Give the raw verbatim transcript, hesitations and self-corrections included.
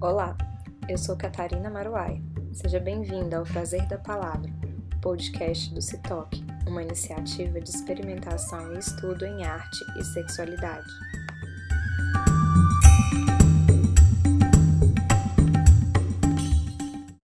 Olá, eu sou Catarina Maruai. Seja bem-vinda ao Prazer da Palavra, podcast do CITOC, uma iniciativa de experimentação e estudo em arte e sexualidade.